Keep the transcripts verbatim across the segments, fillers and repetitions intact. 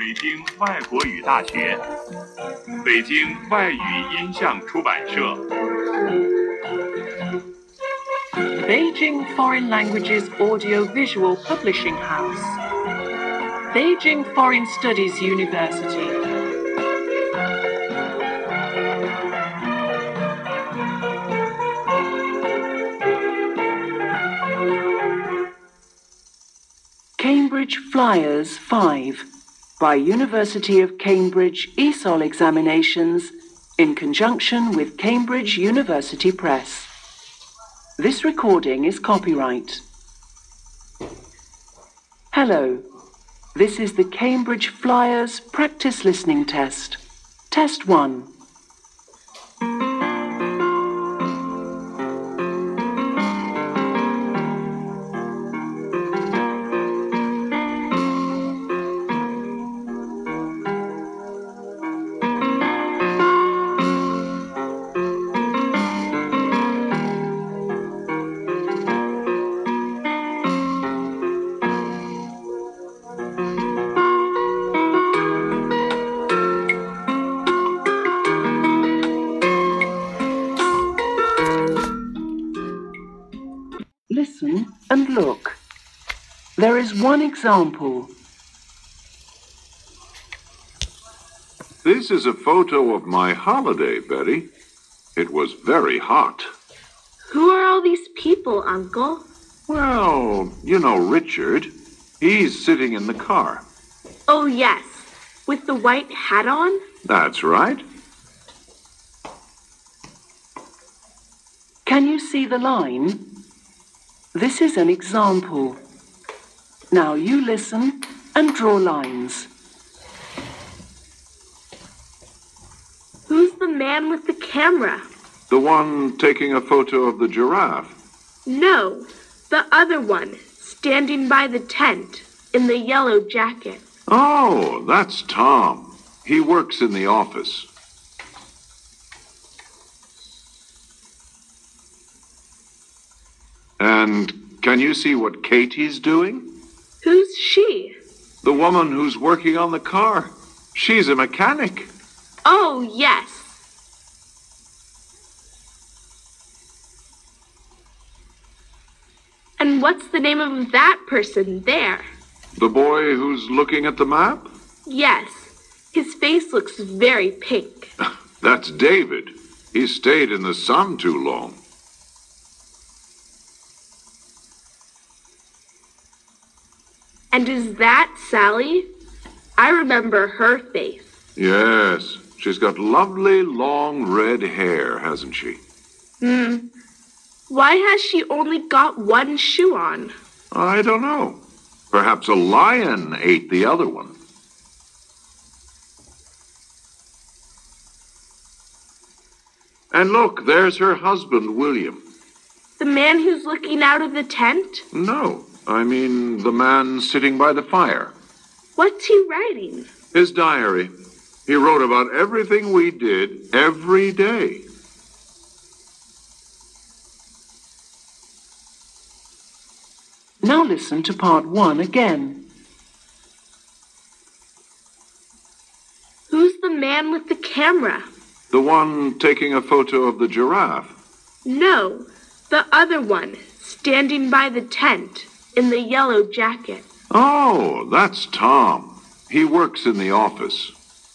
北京外国语大学，北京外语音像出版社。 Beijing Foreign Languages Audio-Visual Publishing House, Beijing Foreign Studies University. Cambridge Flyers five by University of Cambridge E S O L Examinations in conjunction with Cambridge University Press. This recording is copyright. Hello, this is the Cambridge Flyers Practice Listening Test. Test one. Listen and look. There is one example. This is a photo of my holiday, Betty. It was very hot. Who are all these people, Uncle? Well, you know Richard. He's sitting in the car. Oh, yes. With the white hat on? That's right. Can you see the line? This is an example. Now you listen and draw lines. Who's the man with the camera? The one taking a photo of the giraffe. No, the other one, standing by the tent, in the yellow jacket. Oh, that's Tom. He works in the office. And can you see what Katie's doing? Who's she? The woman who's working on the car. She's a mechanic. Oh, yes. And what's the name of that person there? The boy who's looking at the map? Yes. His face looks very pink. That's David. He stayed in the sun too long. And is that Sally? I remember her face. Yes, she's got lovely long red hair, hasn't she? Hmm. Why has she only got one shoe on? I don't know. Perhaps a lion ate the other one. And look, there's her husband, William. The man who's looking out of the tent? No, I mean the man sitting by the fire. What's he writing? His diary. He wrote about everything we did every day. Now listen to part one again. Who's the man with the camera? The one taking a photo of the giraffe. No, the other one, standing by the tent, in the yellow jacket. Oh, that's Tom. He works in the office.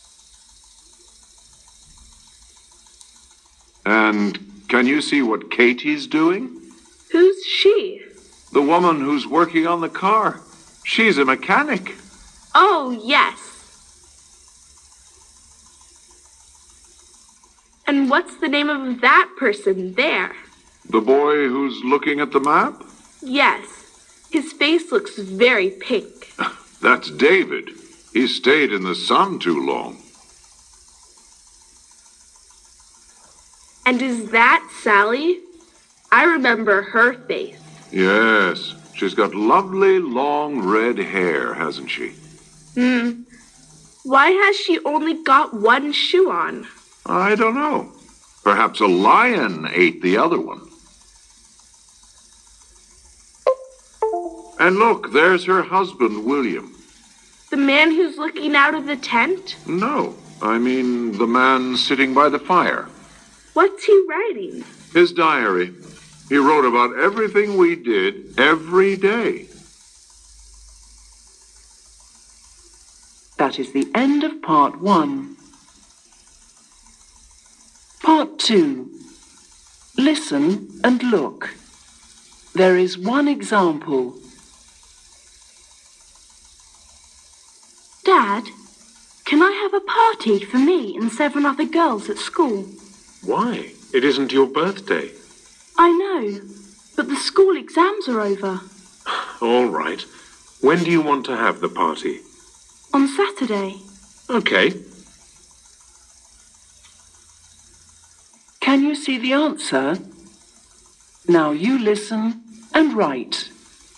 And can you see what Katie's doing? Who's she? The woman who's working on the car. She's a mechanic. Oh, yes. And what's the name of that person there? The boy who's looking at the map? Yes. His face looks very pink. That's David. He stayed in the sun too long. And is that Sally? I remember her face. Yes, she's got lovely long red hair, hasn't she? Hmm. Why has she only got one shoe on? I don't know. Perhaps a lion ate the other one. And look, there's her husband, William. The man who's looking out of the tent? No, I mean the man sitting by the fire. What's he writing? His diary. He wrote about everything we did every day. That is the end of part one. Part two. Listen and look. There is one example. Dad, can I have a party for me and seven other girls at school? Why? It isn't your birthday. I know, but the school exams are over. All right. When do you want to have the party? On Saturday. Okay. Can you see the answer? Now you listen and write.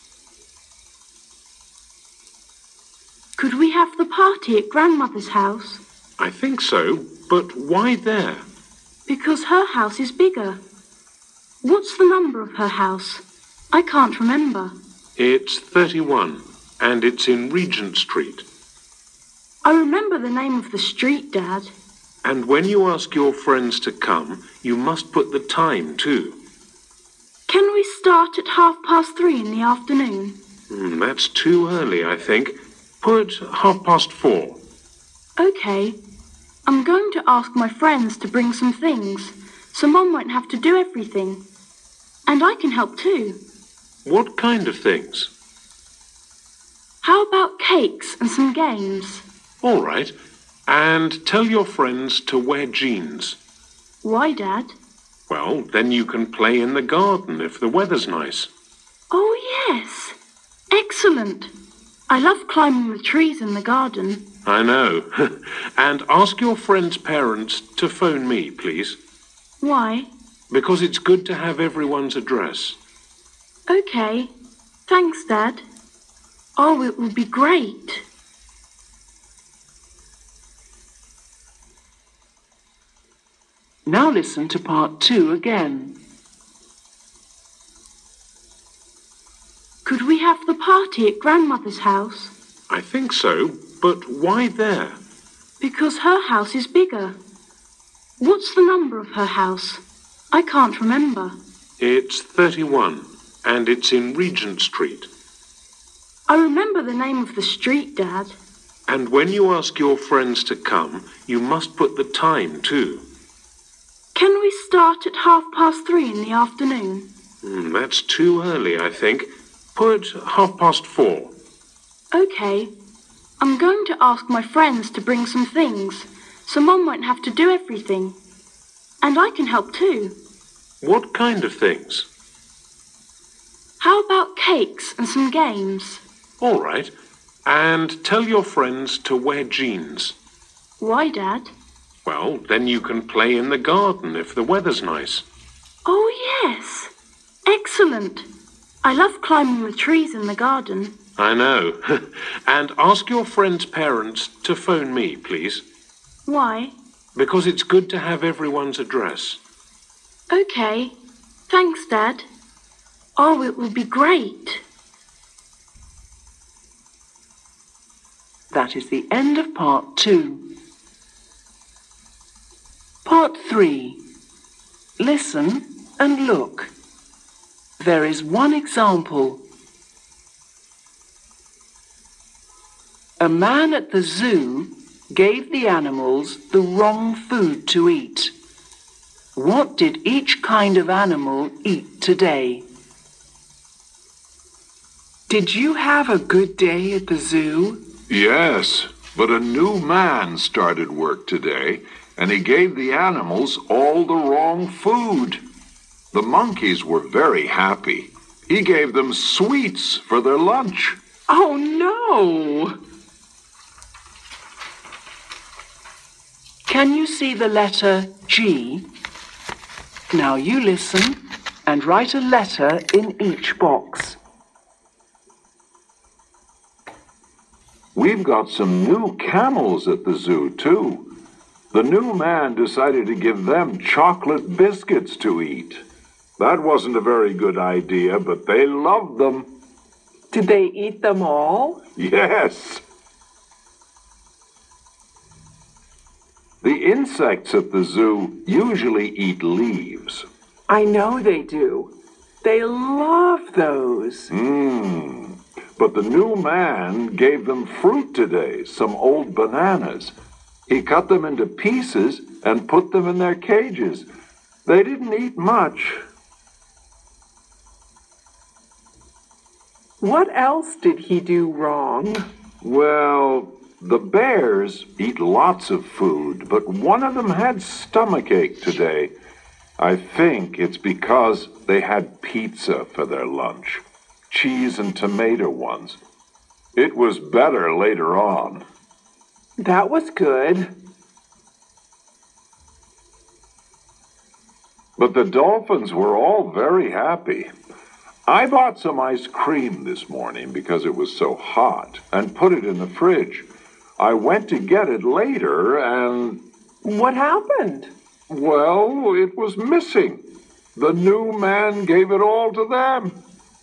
Could we have the party at Grandmother's house? I think so, but why there? Because her house is bigger. What's the number of her house? I can't remember. It's thirty-one, and it's in Regent Street. I remember the name of the street, Dad. And when you ask your friends to come, you must put the time too. Can we start at half past three in the afternoon? Mm, that's too early, I think. Put half past four. Okay. I'm going to ask my friends to bring some things, so Mum won't have to do everything. And I can help too. What kind of things? How about cakes and some games? All right. And tell your friends to wear jeans. Why, Dad? Well, then you can play in the garden if the weather's nice. Oh, yes. Excellent. I love climbing the trees in the garden. I know. And ask your friends' parents to phone me, please. Why? Because it's good to have everyone's address. Okay. Thanks, Dad. Oh, it will be great. Now listen to part two again. Could we have the party at Grandmother's house? I think so, but why there? Because her house is bigger. What's the number of her house? I can't remember. It's thirty-one, and it's in Regent Street. I remember the name of the street, Dad. And when you ask your friends to come, you must put the time too. Can we start at half past three in the afternoon? Mm, that's too early, I think. Put half past four. Okay. I'm going to ask my friends to bring some things, so Mum won't have to do everything. And I can help too. What kind of things? How about cakes and some games? All right. And tell your friends to wear jeans. Why, Dad? Well, then you can play in the garden if the weather's nice. Oh, yes. Excellent. I love climbing the trees in the garden. I know. And ask your friends' parents to phone me, please. Why? Because it's good to have everyone's address. Okay. Thanks, Dad. Oh, it will be great. That is the end of part two. Part three. Listen and look. There is one example. A man at the zoo gave the animals the wrong food to eat. What did each kind of animal eat today? Did you have a good day at the zoo? Yes, but a new man started work today, and he gave the animals all the wrong food. The monkeys were very happy. He gave them sweets for their lunch. Oh, no! Can you see the letter G? Now you listen and write a letter in each box. We've got some new camels at the zoo, too. The new man decided to give them chocolate biscuits to eat. That wasn't a very good idea, but they loved them. Did they eat them all? Yes. The insects at the zoo usually eat leaves. I know they do. They love those. Mmm. But the new man gave them fruit today, some old bananas. He cut them into pieces and put them in their cages. They didn't eat much. What else did he do wrong? Well, the bears eat lots of food, but one of them had stomachache today. I think it's because they had pizza for their lunch. Cheese and tomato ones. It was better later on. That was good. But the dolphins were all very happy. I bought some ice cream this morning because it was so hot and put it in the fridge. I went to get it later and... What happened? Well, it was missing. The new man gave it all to them.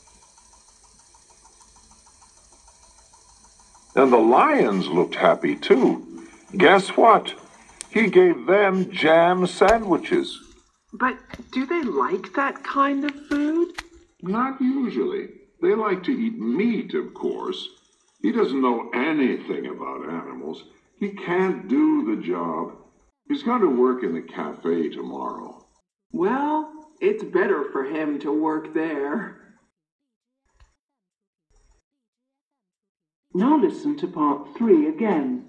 And the lions looked happy too. Guess what? He gave them jam sandwiches. But do they like that kind of food? Not usually. They like to eat meat, of course. He doesn't know anything about animals. He can't do the job. He's going to work in the cafe tomorrow. Well, it's better for him to work there. Now listen to part three again.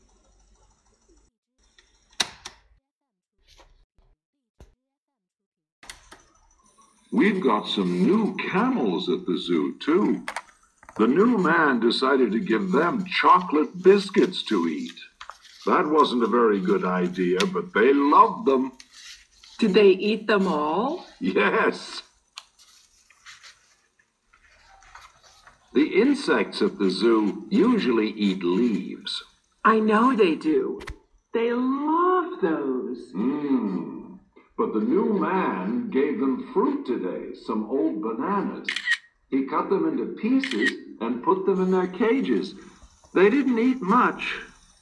We've got some new camels at the zoo, too. The new man decided to give them chocolate biscuits to eat. That wasn't a very good idea, but they loved them. Did they eat them all? Yes. The insects at the zoo usually eat leaves. I know they do. They love those. Mmm. But the new man gave them fruit today, some old bananas. He cut them into pieces and put them in their cages. They didn't eat much.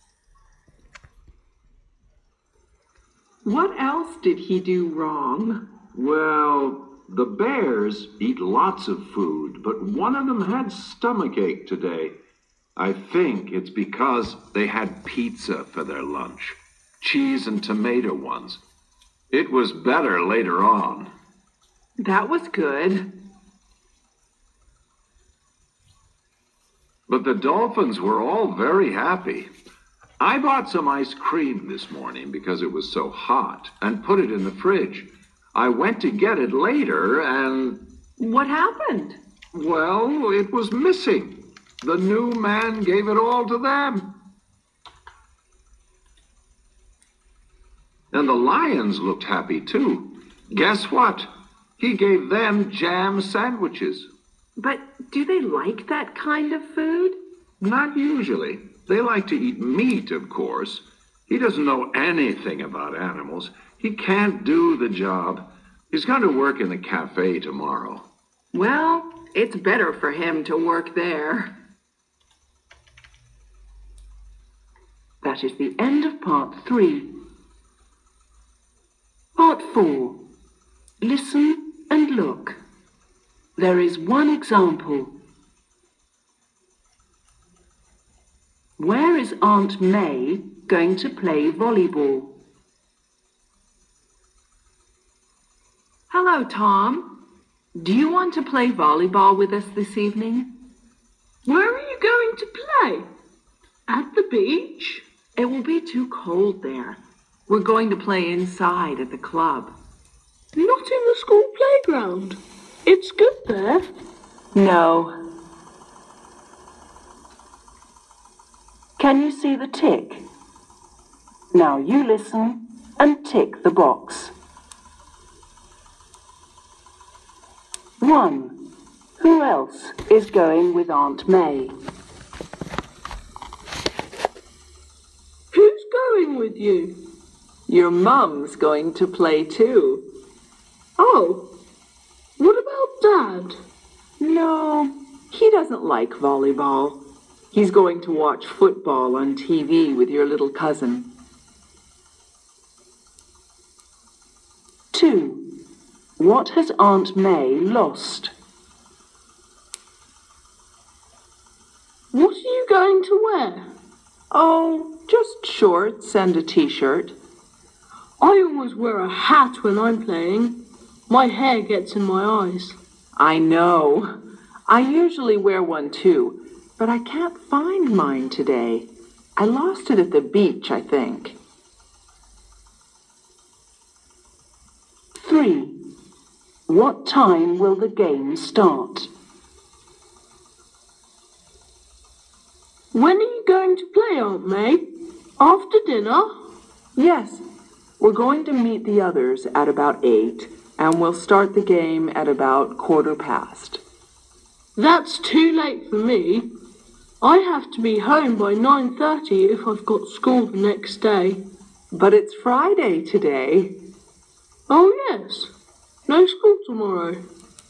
What else did he do wrong? Well, the bears eat lots of food, but one of them had stomachache today. I think it's because they had pizza for their lunch. Cheese and tomato ones. It was better later on. That was good. But the dolphins were all very happy. I bought some ice cream this morning because it was so hot and put it in the fridge. I went to get it later and... What happened? Well, it was missing. The new man gave it all to them. And the lions looked happy too. Guess what? He gave them jam sandwiches. But do they like that kind of food? Not usually. They like to eat meat, of course. He doesn't know anything about animals. He can't do the job. He's going to work in the cafe tomorrow. Well, it's better for him to work there. That is the end of part three. Part four. Listen and look. There is one example. Where is Aunt May going to play volleyball? Hello, Tom. Do you want to play volleyball with us this evening? Where are you going to play? At the beach? It will be too cold there. We're going to play inside at the club. Not in the school playground. It's good there. No. Can you see the tick? Now you listen and tick the box. One. Who else is going with Aunt May? Who's going with you? Your mum's going to play too. Oh, what about Dad? No, he doesn't like volleyball. He's going to watch football on T V with your little cousin. What has Aunt May lost? What are you going to wear? Oh, just shorts and a t-shirt. I always wear a hat when I'm playing. My hair gets in my eyes. I know. I usually wear one too, but I can't find mine today. I lost it at the beach, I think. Three. What time will the game start? When are you going to play, Aunt May? After dinner? Yes. We're going to meet the others at about eight, and we'll start the game at about quarter past. That's too late for me. I have to be home by nine thirty if I've got school the next day. But it's Friday today. Oh, yes. No school tomorrow.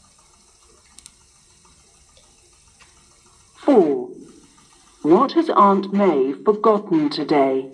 Four. What has Aunt May forgotten today?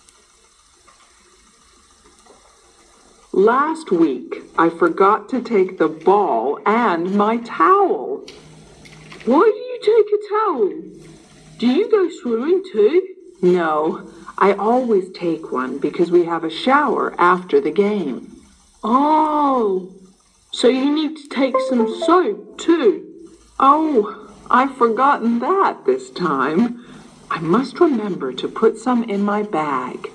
Last week, I forgot to take the ball and my towel. Why do you take a towel? Do you go swimming too? No, I always take one because we have a shower after the game. Oh, so you need to take some soap too. Oh, I've forgotten that this time. I must remember to put some in my bag.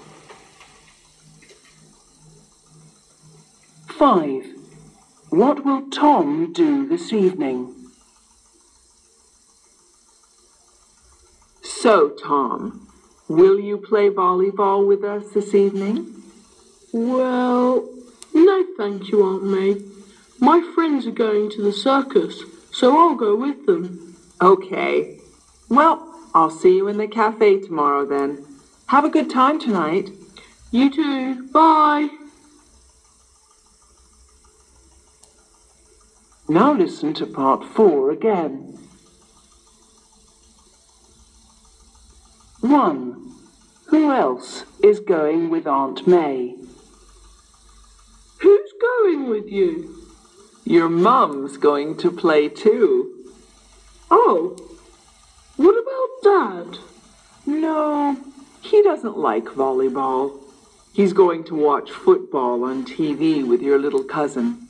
Five. What will Tom do this evening? So, Tom, will you play volleyball with us this evening? Well, no thank you, Aunt May. My friends are going to the circus, so I'll go with them. Okay. Well, I'll see you in the cafe tomorrow then. Have a good time tonight. You too. Bye. Now listen to part four again. One. Who else is going with Aunt May? Who's going with you? Your mum's going to play too. Oh, what about Dad? No, he doesn't like volleyball. He's going to watch football on T V with your little cousin.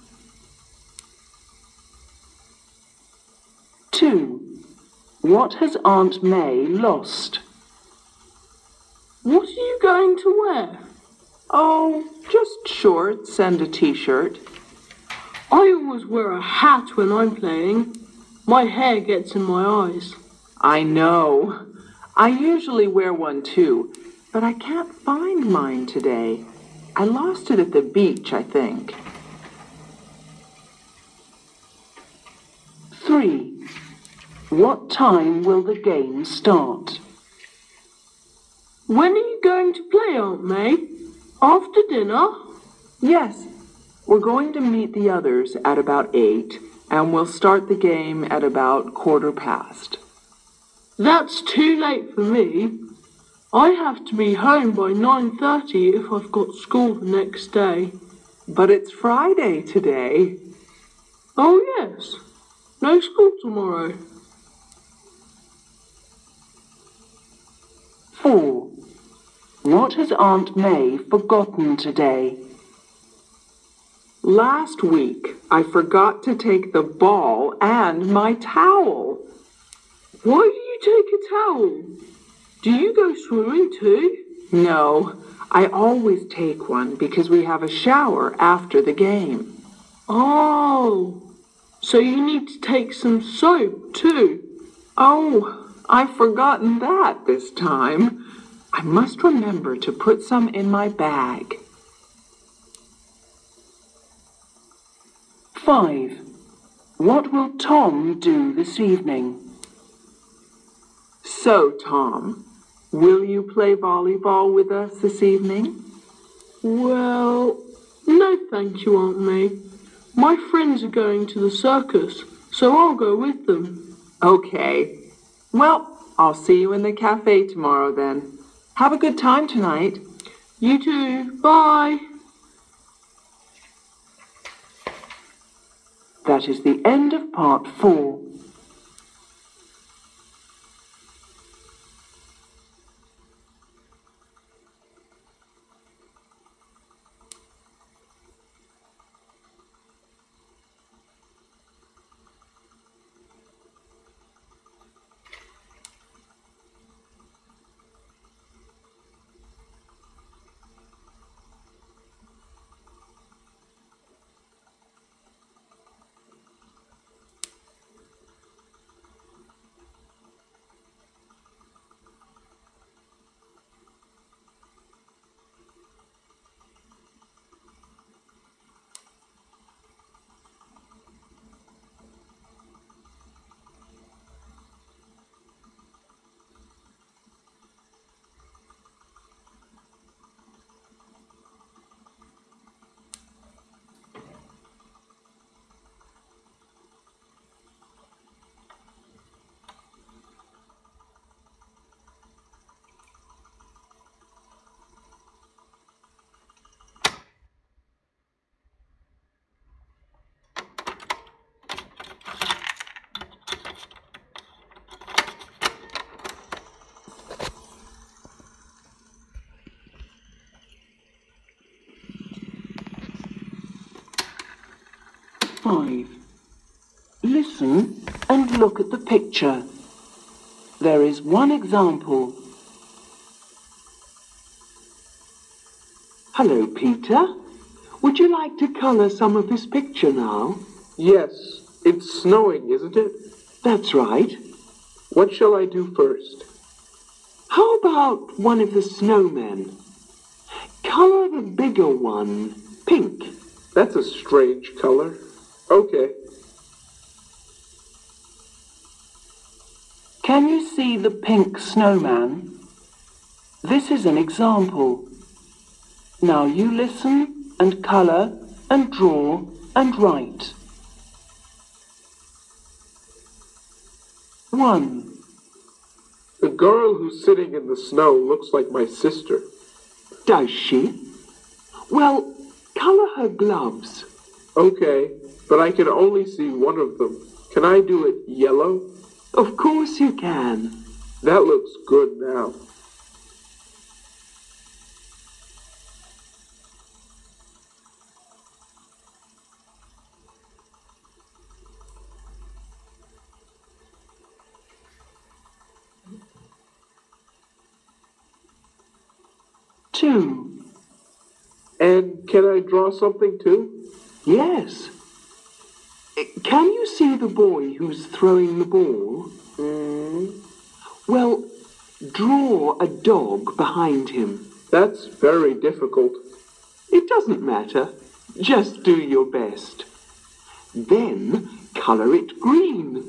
Two. What has Aunt May lost? What are you going to wear? Oh, just shorts and a t-shirt. I always wear a hat when I'm playing. My hair gets in my eyes. I know. I usually wear one too, but I can't find mine today. I lost it at the beach, I think. Three. What time will the game start? When are you going to play, Aunt May? After dinner? Yes. We're going to meet the others at about eight, and we'll start the game at about quarter past. That's too late for me. I have to be home by nine thirty if I've got school the next day. But it's Friday today. Oh, yes. No school tomorrow. Four. What has Aunt May forgotten today? Last week, I forgot to take the ball and my towel. Why do you take a towel? Do you go swimming too? No, I always take one because we have a shower after the game. Oh, so you need to take some soap too. Oh, I've forgotten that this time. I must remember to put some in my bag. Five. What will Tom do this evening? So, Tom, will you play volleyball with us this evening? Well, no thank you, Aunt May. My friends are going to the circus, so I'll go with them. Okay. Well, I'll see you in the cafe tomorrow then. Have a good time tonight. You too. Bye. That is the end of part four. Five. Listen and look at the picture. There is one example. Hello, Peter. Would you like to colour some of this picture now? Yes, it's snowing, isn't it? That's right. What shall I do first? How about one of the snowmen? Colour the bigger one pink. That's a strange color. Okay. Can you see the pink snowman? This is an example. Now you listen and colour and draw and write. One. The girl who's sitting in the snow looks like my sister. Does she? Well, colour her gloves. Okay, but I can only see one of them. Can I do it yellow? Of course you can. That looks good now. Two. And can I draw something too? Yes. Can you see the boy who's throwing the ball? Mm. Well, draw a dog behind him. That's very difficult. It doesn't matter. Just do your best. Then colour it green.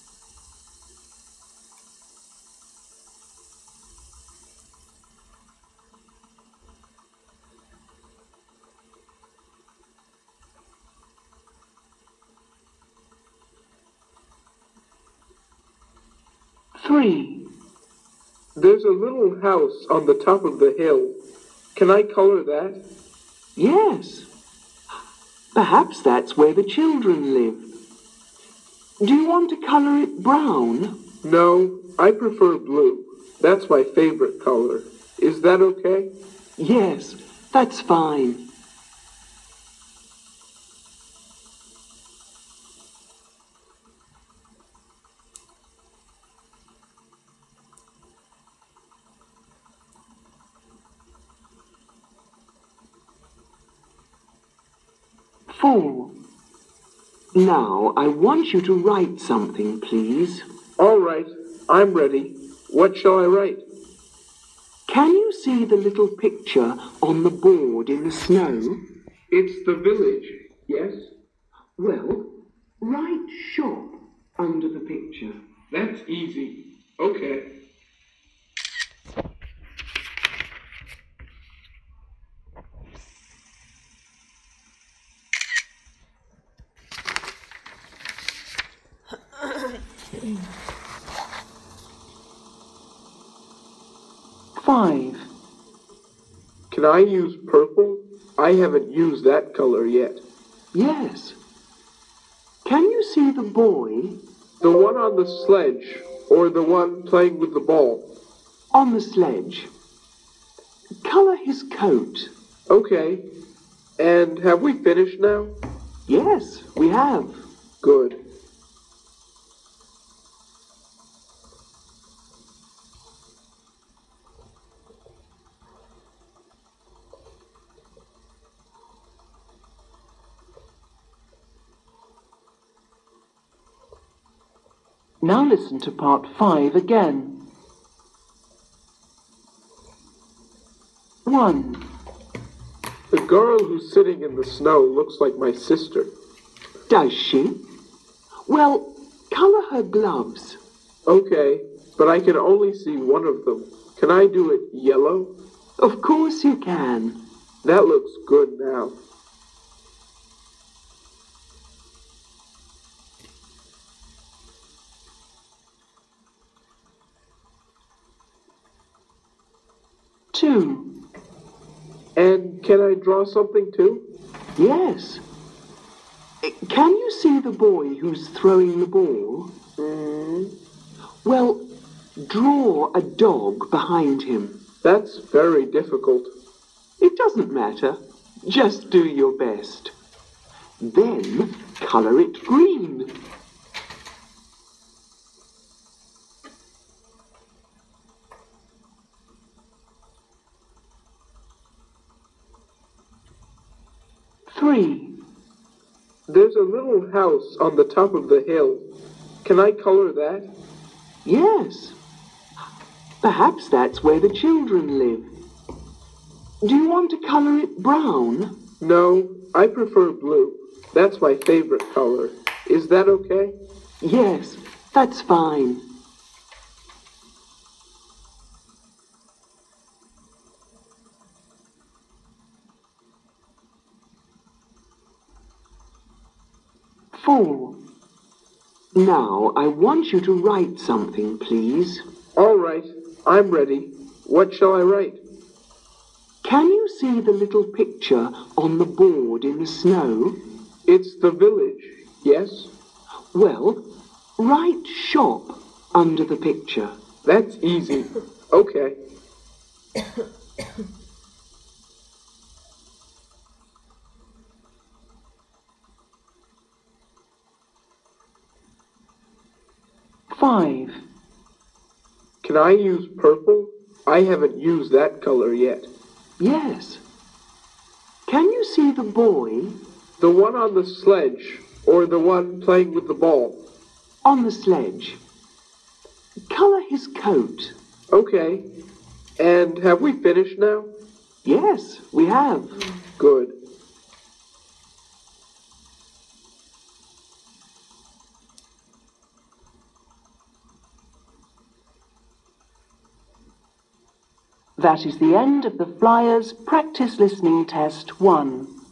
Three. There's a little house on the top of the hill. Can I color that? Yes. Perhaps that's where the children live. Do you want to colour it brown? No, I prefer blue. That's my favorite color. Is that okay? Yes, that's fine. Four. Now, I want you to write something, please. All right, I'm ready. What shall I write? Can you see the little picture on the board in the snow? It's the village, yes? Well, write shop under the picture. That's easy. Okay. Five. Can I use purple? I haven't used that color yet. Yes. Can you see the boy? The one on the sledge, or the one playing with the ball? On the sledge. Color his coat. Okay. And have we finished now? Yes, we have. Good. Now listen to part five again. One. The girl who's sitting in the snow looks like my sister. Does she? Well, color her gloves. Okay, but I can only see one of them. Can I do it yellow? Of course you can. That looks good now. Two. And can I draw something too? Yes. Can you see the boy who's throwing the ball? Mm. Well, draw a dog behind him. That's very difficult. It doesn't matter. Just do your best. Then color it green. Three. There's a little house on the top of the hill. Can I color that? Yes. Perhaps that's where the children live. Do you want to color it brown? No, I prefer blue. That's my favorite color. Is that okay? Yes, that's fine. Four. Now, I want you to write something, please. All right, I'm ready. What shall I write? Can you see the little picture on the board in the snow? It's the village, yes? Well, write shop under the picture. That's easy. Okay. Five. Can I use purple? I haven't used that color yet. Yes. Can you see the boy? The one on the sledge, or the one playing with the ball? On the sledge. Color his coat. Okay. And have we finished now? Yes, we have. Good. That is the end of the Flyers Practice Listening Test one.